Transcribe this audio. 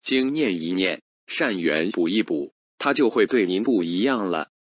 经念一念，善缘补一补，他就会对您不一样了。